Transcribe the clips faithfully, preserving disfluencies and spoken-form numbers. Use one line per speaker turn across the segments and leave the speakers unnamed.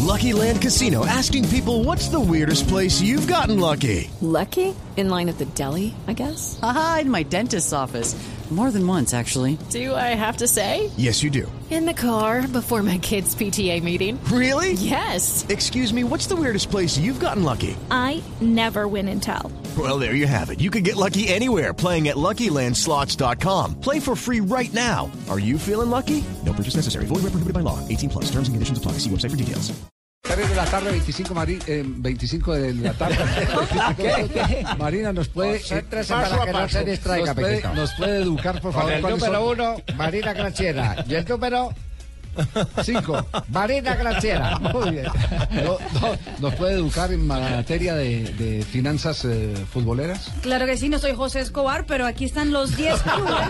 Lucky Land Casino, asking people, what's the weirdest place you've gotten lucky?
Lucky? In line at the deli, I guess?
Aha, in my dentist's office. More than once, actually.
Do I have to say?
Yes, you do.
In the car before my kids' P T A meeting.
Really?
Yes.
Excuse me, what's the weirdest place you've gotten lucky?
I never win and tell.
Well, there you have it. You can get lucky anywhere, playing at Lucky Land Slots dot com. Play for free right now. Are you feeling lucky? No purchase necessary. Void where prohibited by law. eighteen plus. Terms and conditions apply. See website for details.
tres de la tarde, veinticinco, Mari, eh, veinticinco de la tarde. ¿Qué? Marina, ¿nos puede, eh,
para que no se distraiga,
nos puede, nos puede educar, por favor?
Con el número son? uno, Marina Granciera. Y el número
cinco,
Marina Granciera.
Muy bien. No, no, ¿Nos puede educar en materia de, de finanzas eh, futboleras?
Claro que sí, no soy José Escobar, pero aquí están los diez clubes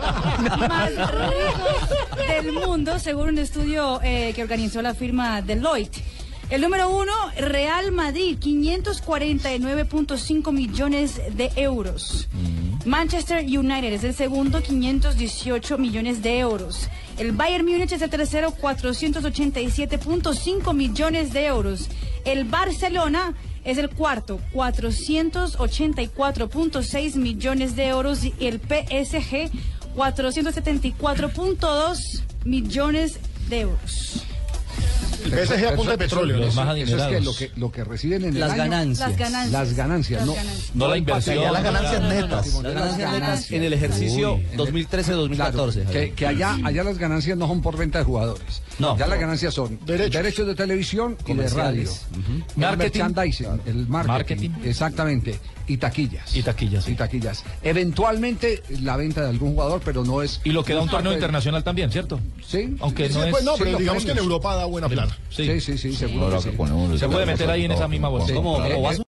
más ricos del mundo, según un estudio eh, que organizó la firma Deloitte. El número uno, Real Madrid, quinientos cuarenta y nueve punto cinco millones de euros. Manchester United es el segundo, quinientos dieciocho millones de euros. El Bayern Múnich es el tercero, cuatrocientos ochenta y siete punto cinco millones de euros. El Barcelona es el cuarto, cuatrocientos ochenta y cuatro punto seis millones de euros. Y el P S G, cuatrocientos setenta y cuatro punto dos millones de euros.
El P S G a punta de petróleo.
Los más adinerados. Eso es que lo que lo que reciben en
las
el año,
ganancias.
Las ganancias.
Las ganancias,
Las
no,
ganancias.
No la inversión.
Ya las ganancias netas.
Las ganancias netas en el ejercicio
Uy,
dos mil trece dos mil catorce.
Claro, que, que allá, allá las ganancias no son por venta de jugadores.
No.
Ya las ganancias son derechos, derechos de televisión y de radio.
Uh-huh.
El
Marketing.
merchandising, el marketing,
Marketing.
Exactamente. Y taquillas.
Y taquillas, sí.
Y taquillas. Eventualmente la venta de algún jugador, pero no es...
Y lo que da
no
un
es
torneo
parte de-
internacional también, ¿cierto?
Sí.
Aunque
Sí,
no es...
pues no,
sí,
pero
los
digamos que en
premios.
Europa da buena plata.
Sí, sí, sí, seguro que sí.
Se puede meter ahí en esa misma bolsa.
Sí.
Como,
Eh,
como
eh,
vaso.